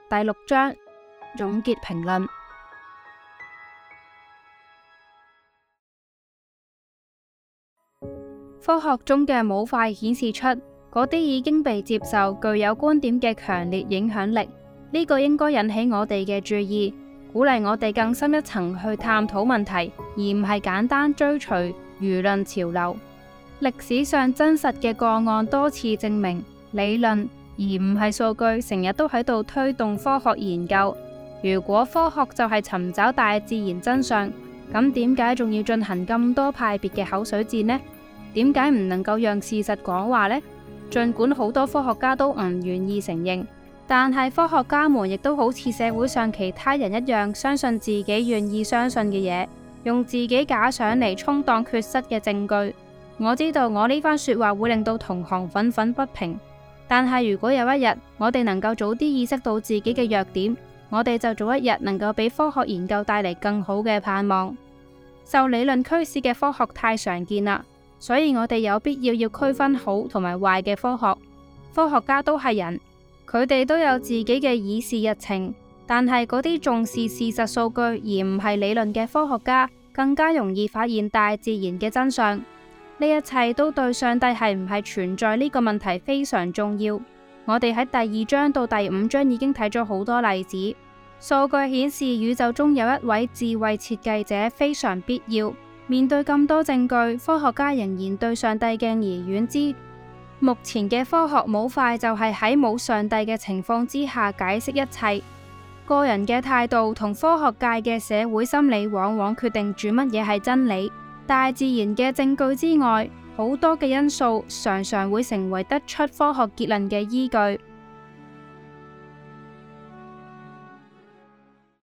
第6章總結評論。科學中嘅模塊顯示出嗰啲已經被接受、具有觀點嘅強烈影響力，呢個應該引起我哋嘅注意，鼓勵我哋更深一層去探討問題，而唔係簡單追隨輿論潮流。歷史上真實嘅個案多次證明，理論而唔係數據成日都喺度推動科學研究。如果科學就係尋找大自然真相，咁點解仲要進行咁多派別嘅口水戰呢？點解唔能夠讓事實講話呢？儘管好多科學家都唔願意承認，但係科學家們亦都好似社會上其他人一樣，相信自己願意相信嘅嘢，用自己假想嚟充當缺失嘅證據。我知道我呢番說話會令到同行憤憤不平，但係如果有一日我哋能夠早啲意識到自己嘅弱點，我哋就早一日能夠俾科學研究帶嚟更好嘅盼望。受理論驅使嘅科學太常見啦，所以我哋有必要區分好同埋壞嘅科學。科學家都係人，佢哋都有自己嘅議事日程，但係嗰啲重視事實數據而唔係理論嘅科學家，更加容易發現大自然嘅真相。呢一切都對上帝係唔係存在呢個問題非常重要。我哋喺第2章到第5章已經睇咗好多例子。數據顯示宇宙中有一位智慧設計者非常必要。面對咁多證據，科學家仍然對上帝敬而遠之。目前嘅科學模塊就係喺冇上帝嘅情況之下解釋一切。個人嘅態度同科學界嘅社會心理往往決定住乜嘢係真理。大自然嘅證據之外，好多嘅因素常常會成為得出科學結論嘅依據。